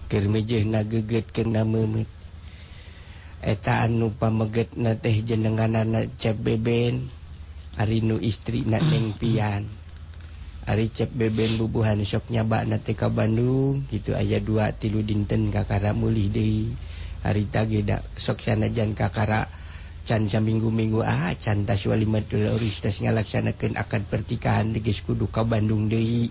keur mejehna gegetkeun memet eta anu pamegetna teh jenenganana Cep Beben ari nu istrina Neng Pian. Ari Cep Beben bubuhan sok nyabana teh ka Bandung kitu aya 2-3 dinten kakara mulih deui. Harita ge da sok sanajan kakara can saminggu-minggu can tas walimatul uris tas ngalaksanakeun akad pertikahan geus kudu ka Bandung deui.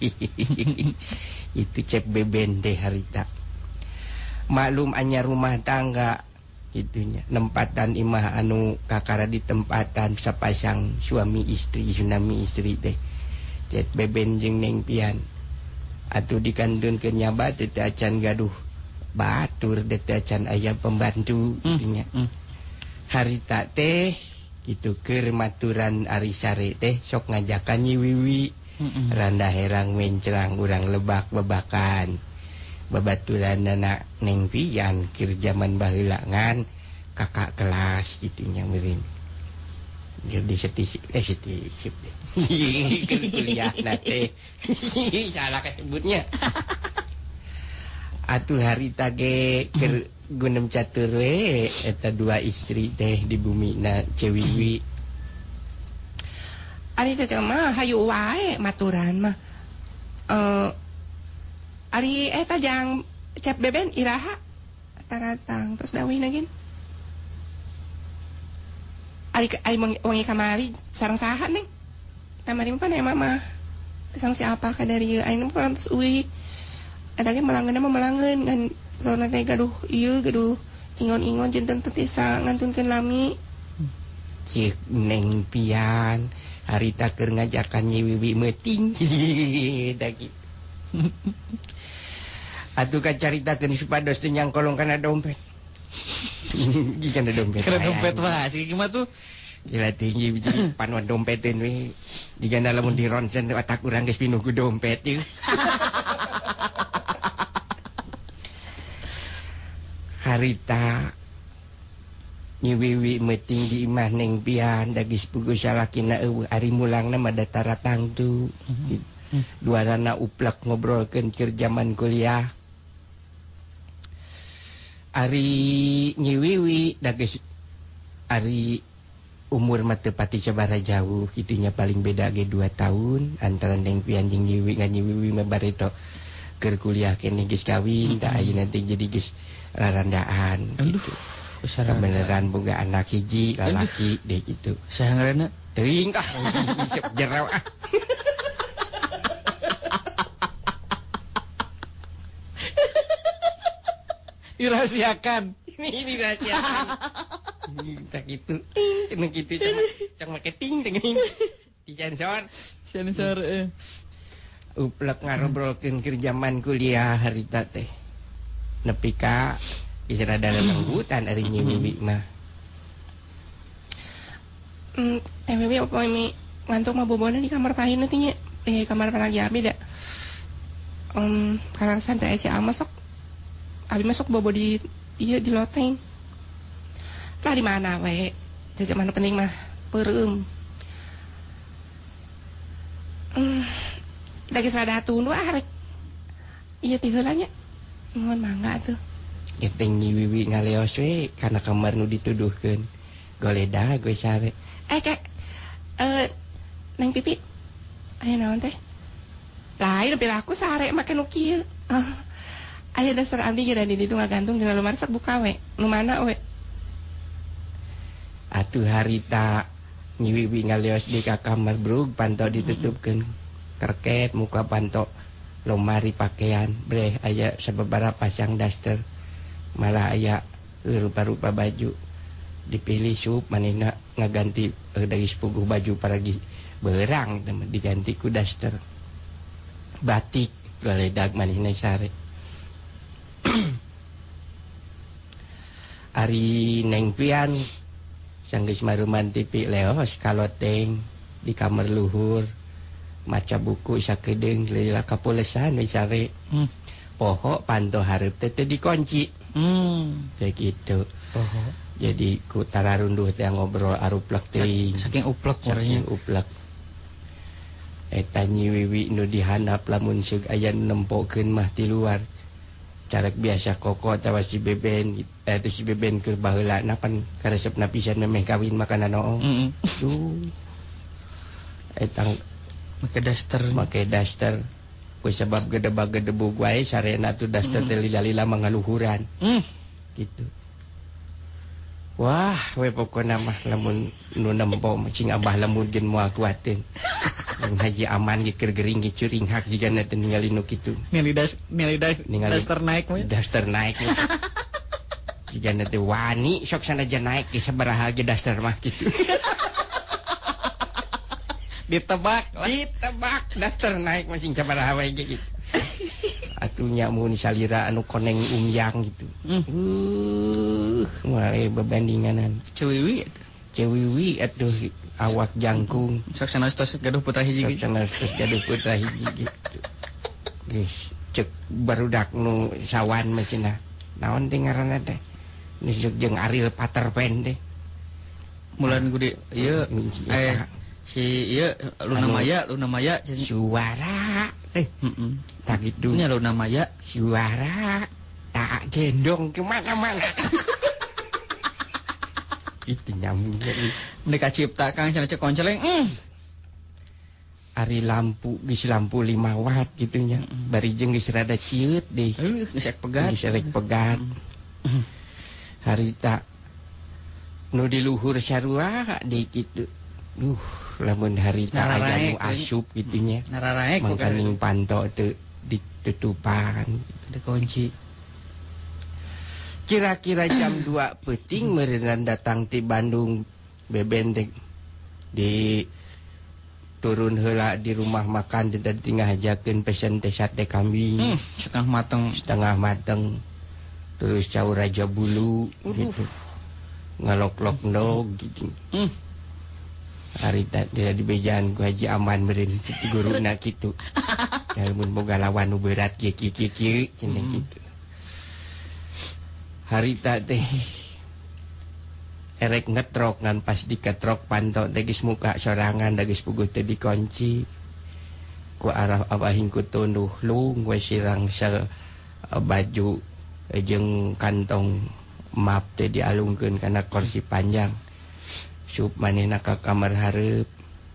Itu Cep Beben teh harita. Maklum anyar rumah tangga gitunya nempatan imah anu kakara di tempatan sapasang suami istri tsunami istri teh Cep Beben jeung Neng Pian atuh dikandunkeun nyaba teh acan gaduh batur teh acan aya pembantu gitunya. Harita teh kitu keur maturan ari sare teh sok ngajakan Nyi Wiwi randa herang mencrang urang lebak bebakan babaturan anak Neng Pian keur zaman baheula ngan kakak kelas gitunya meureun. Jadi seti keur kuliah na teh. Salah kasebutnya. Atuh harita ge keur gunem catur we eta 2 istri teh di bumina Cewiwi. Ari cacing mah hayu wae maturan mah. Ari eta jang Cep Beben iraha taratang terus dawihna gen. Ari wengi kamari sareng saha Neng? Kamari mah pana mama. Sang siapa ka dari ayeuna mah terus euy. Eta ge melangeunna mah melangeun ngan soalna teh gaduh ieu gaduh ingon-ingon janten teh tisa ngantunkeun lami. Cik Neng Pian harita keur ngajakan Nyi Wiwi meuting. Da kitu. Atuh kacaritakeun supados teu nyangkolong kana dompet. Kana dompet. Kana dompet mah sih gimana tuh? Gila tinggi jadi panuan dompetin we. Digana lamun di ronsen otak urang geus pinuh ku dompet ieu. Harita Nyi Wiwi meuting di imah Neng Pian da geus puguh salakina eueuh ari mulangna mah da taratang tu. Duarana uplek ngobrolkeun keur zaman kuliah. Ari Nyi Wiwi da geus ari umur mah teu pati sabaraha jauh kitunya paling beda ge 2 tahun antara Neng Pian jeung Nyi Wiwi. Nyi Wiwi mah bareto keur kuliah keneh geus kawin da ayeuna teh jadi geus rarandaan gitu. Kebeneran boga anak hiji lalaki deh gitu. Saha ngaranna? Teuing cep jero Dirahasiakan. Ini dirahasiakan. Tak gitu. Cenah kitu cang make ting teuing. Sensor Uplek ngarobrolkeun keur zaman kuliah harita teh. Nepi ka isra dalam lenggutan ari Nyi Wiwi mah. Teh Wiwi apa ini ngantuk mah bobona di kamar pahinna teh nya. Di kamar palagi abi da. Karena santai si ama sok. Abi masuk bobo di di loteng. Lah di mana we? Jajan mana penting mah peureum. Da geus rada tunu arek. Ieu teh heula nya. Nuhun mangga atuh. Geteng Nyi Wiwi ngaleos we kana kamar nu dituduhkeun. Goleda gue sare. Kek. Neng Pipi. Aya naon teh? Lain perilaku sare make nu kieu. Aya dasar abdi ge di ditu ngagantung dina lemari sok buka we. Nu mana we? Atuh harita Nyi Wiwi ngaleos di ka kamar brug panto ditutupkeun kerket muka panto lemari pakaian breh aya sababaraha pasang daster malah aya rupa-rupa baju dipilih sup manehna ngaganti dari sepuguh baju paragi beurang diganti ku daster batik galedag manehna sare. Ari Neng Pian sanggeus maruman TV leos kaloteng di kamar luhur maca buku sakedeung lila kapulesan we sare. Poho panto hareup teh dikunci. Kayak gitu. Poho. Jadi ku tararunduh teh ngobrol aruplek teuing. Saking uplek orangnya. Saking uplek. Eta Nyi Wiwi nu dihandap lamun seug aya nempokeun mah ti luar. Carek biasa koko atawa si beben itu si beben keur baheula napan karesepna pisan memeh kawin makanan oong. Etang make daster. Ku sebab gedebag-gedebug wae sarena tu daster teh lila-lila mangaluhuran. Gitu. Wah, we pokona mah lamun nu nempo cing abah lamun gen moal kuatin. Haji aman ge keur gering ge curing hak jigana teh ningali nu kitu. Ningali daster naik mah. Daster naik. Jigana teh wani sok sanajan naik ge sabaraha ge daster mah kitu. Ditebak daster naik masing sabaraha wae ge gitu. Atunya mun salira anu koneng umyang gitu. Wae bebandinganan. Cewiwi atuh awak jangkung. Sok sanestos gaduh putra hiji gitu. Gitu. Geus cek barudak nu sawan mah cenah. Naon teh ngaranna teh? Nisuk jeung Ariel Pater Pan teh. Mulan gede ieu si ieu Luna Maya suara teh. Tak gitu. Nya Luna Maya suara tak gendong ke mana-mana. Itu nyambung deui. Mereka cipta Kang cenah cek konceleng. Ari lampu geus lampu 5 watt gitu nya. Bari jeung geus rada cieut deui. Geus pegat. Geus rek pegat. Harita nu di luhur sarua deui kitu. Lamun harita aya nu asup gitu nya. Nararaek mangkaning panto teu ditutupan, dikunci. Kira-kira jam 2 peuting meureunna datang ti Bandung beben di turun heula di rumah makan teh tinggal hajakeun pesen teh sate kambing setengah mateng terus caur raja bulu gitu ngalok-lok ndog gitu. Hari tadi di bejaan ku Haji Aman meureun ti guruna kitu. Mun boga lawan nu berat kieu cenah kitu. Harita teh erek ngetrok ngan pas diketrok panto teh geus muka sorangan da geus puguh teh dikunci ku arah abahing ku tunduh lung we sirang sel baju jeung kantong map teh dialungkeun kana kursi panjang sup manehna ka kamar hareup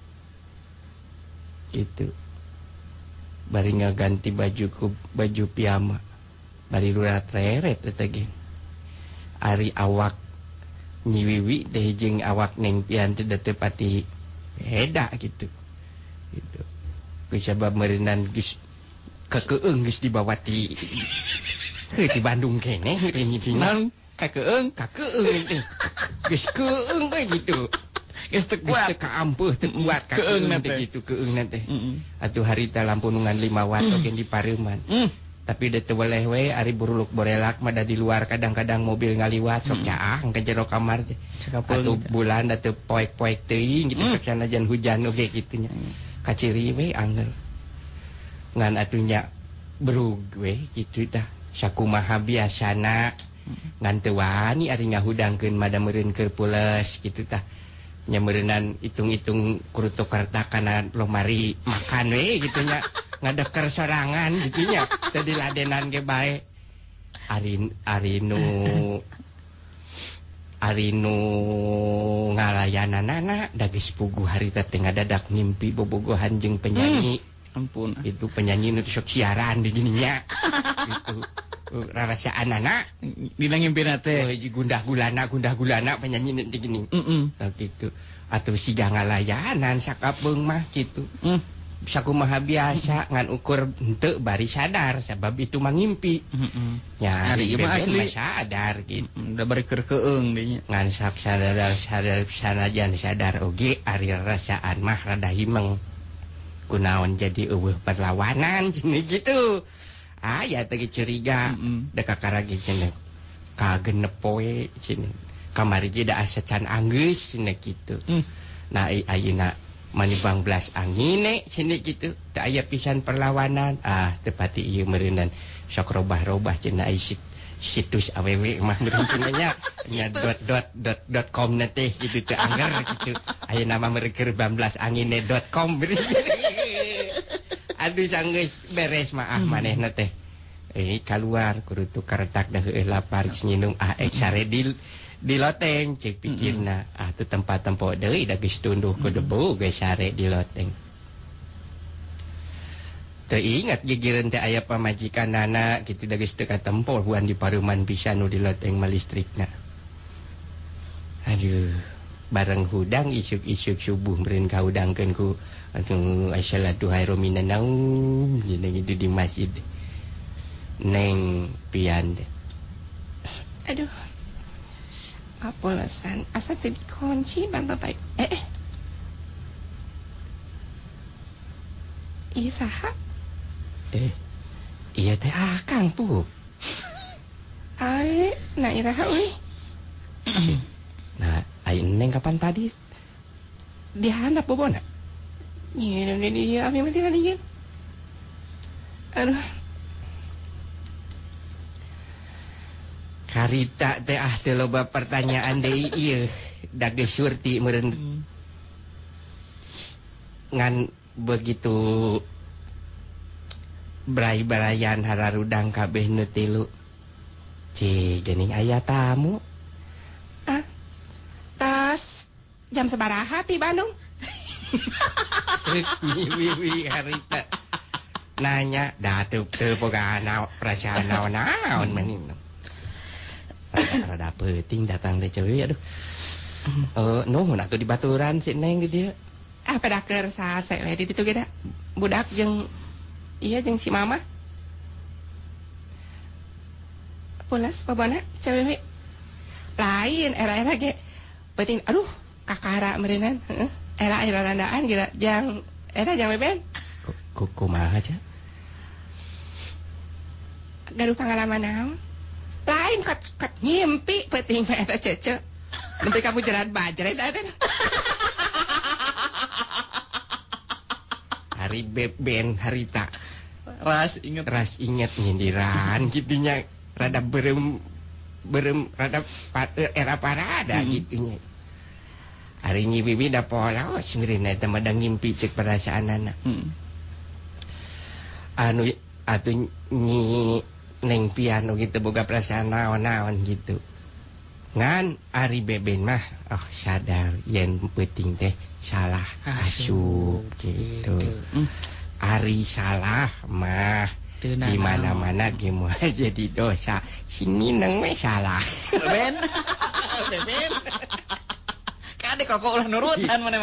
gitu. Bari ngaganti baju ku baju piyama bari lurat reret eta ge. Ari awak nyiwiwi teh jeung awak Neng Pian teh teu pati beda gitu. Gitu. Ku sabab meureunnan geus kakeueung geus dibawa ti di Bandung keneh Nang kakeueung teh. Geus keueung we gitu. Geus teu kuat kaampeuh teu kuat keueung teh gitu keueung teh. Atuh harita lampu nungan 5 watt oge di pareuman. Tapi da teu weleh we ari buruluk borelak mah da di luar kadang-kadang mobil ngaliwat sok caang ka jero kamar teh. Atuh bulan da teu poek-poek teuing gitu sok sanajan hujan oge kitu nya. Kaciri we angel. Ngan atunya berug we kitu tah. Sakumaha biasana ngan teu wani ari ngahudangkeun mada meureun keur pules kitu tah. Nya meureunan itung-itung kurutuk karta kana lomari makan we kitu nya. Ngadeker sorangan gitu nya teh diladenan ge bae ari nu ngalayananana da geus puguh harita teh ngadadak ngimpi bobogohan jeung penyanyi ampun itu penyanyi nu sok siaran di gininya gitu rarasaanana dina ngimpina teh gundah gulana penyanyi nu di gini gitu atuh siga ngalayanan sakapeung mah gitu sakumaha biasa ngan ukur henteu bari sadar sabab itu mangimpi. Nya ari mah asli sadar gitu. Da bari keur keueung dinya. Ngan sak sadar sanajan sadar oge ari rasaan mah rada himeng. Kunaon jadi eueuh perlawanan cenah gitu. Aya teh curiga da kakaragi cenah. Kagenep poe cenah. Kamari ge da asa can anggeus cenah kitu. Nah ayeuna manibang belas angine cenah kitu teu aya pisan perlawanan tepati ieu meureunan sok robah-robah cenah ai situs awewe mah meureun nya .com na teh kitu teu angger kitu aya nama meureun 12angine.com aduh sanggeus beres mah manehna teh keluar kudu tukar tak dah lapar nginum sare di loteng cek pikirna tu tempat-tempat deui da geus tunduh ku debu geus sare di loteng. Teu ingat gigireun teh aya pamajikanana kitu da geus teu katempo huan di pareuman pisan nu di loteng mah listrikna. Aduh, bareng hudang isuk-isuk subuh meureun kahudangkeun ku assalatu khairum minan naum gitu di masjid. Neng pian deh. Aduh. Apolasan asa teu dikunci bantah baik. Iya saha? Iya teh akang pu. Nah iraha euy. Nah, ai neng kapan tadi dihandap bobona? Iya, abi mah teh lieu. Aduh. Karita teh teu loba pertanyaan deui ieu. Da geus surti meureun ngan begitu bray-brayan hararudang kabeh nu tilu. Geuning aya tamu. Tas jam sabaraha ti Bandung? Wiwi harita nanya da teu boga perasaan naon meuning. Rada peuting datang teh ceuy aduh. Nuhun atuh dibaturan si Neng di dieu. Pada keur sase we di ditu ge da. Budak jeung jeung si Mama. Pulas babana cewek lain era-era ge penting aduh kakara meureunnan era randaan geura jang beben Kumaha aja gaduh pengalaman naon lain kat ngimpi penting mah eta cece nembe ka bujeran bajret eta hari beben harita Ras inget nyindiran gitunya rada berem rada era parada gitunya. Hari nyi bibi da pola seureun eta mah da ngimpi ceuk perasaanana. Anu atuh nyi Neng pian gitu boga perasaan naon-naon gitu. Ngan ari beben mah sadar yen penting teh salah asup gitu. Ari salah mah di mana-mana ge moal jadi dosa. Sini neng we salah. Beben. Kade kok ulah nurutan mana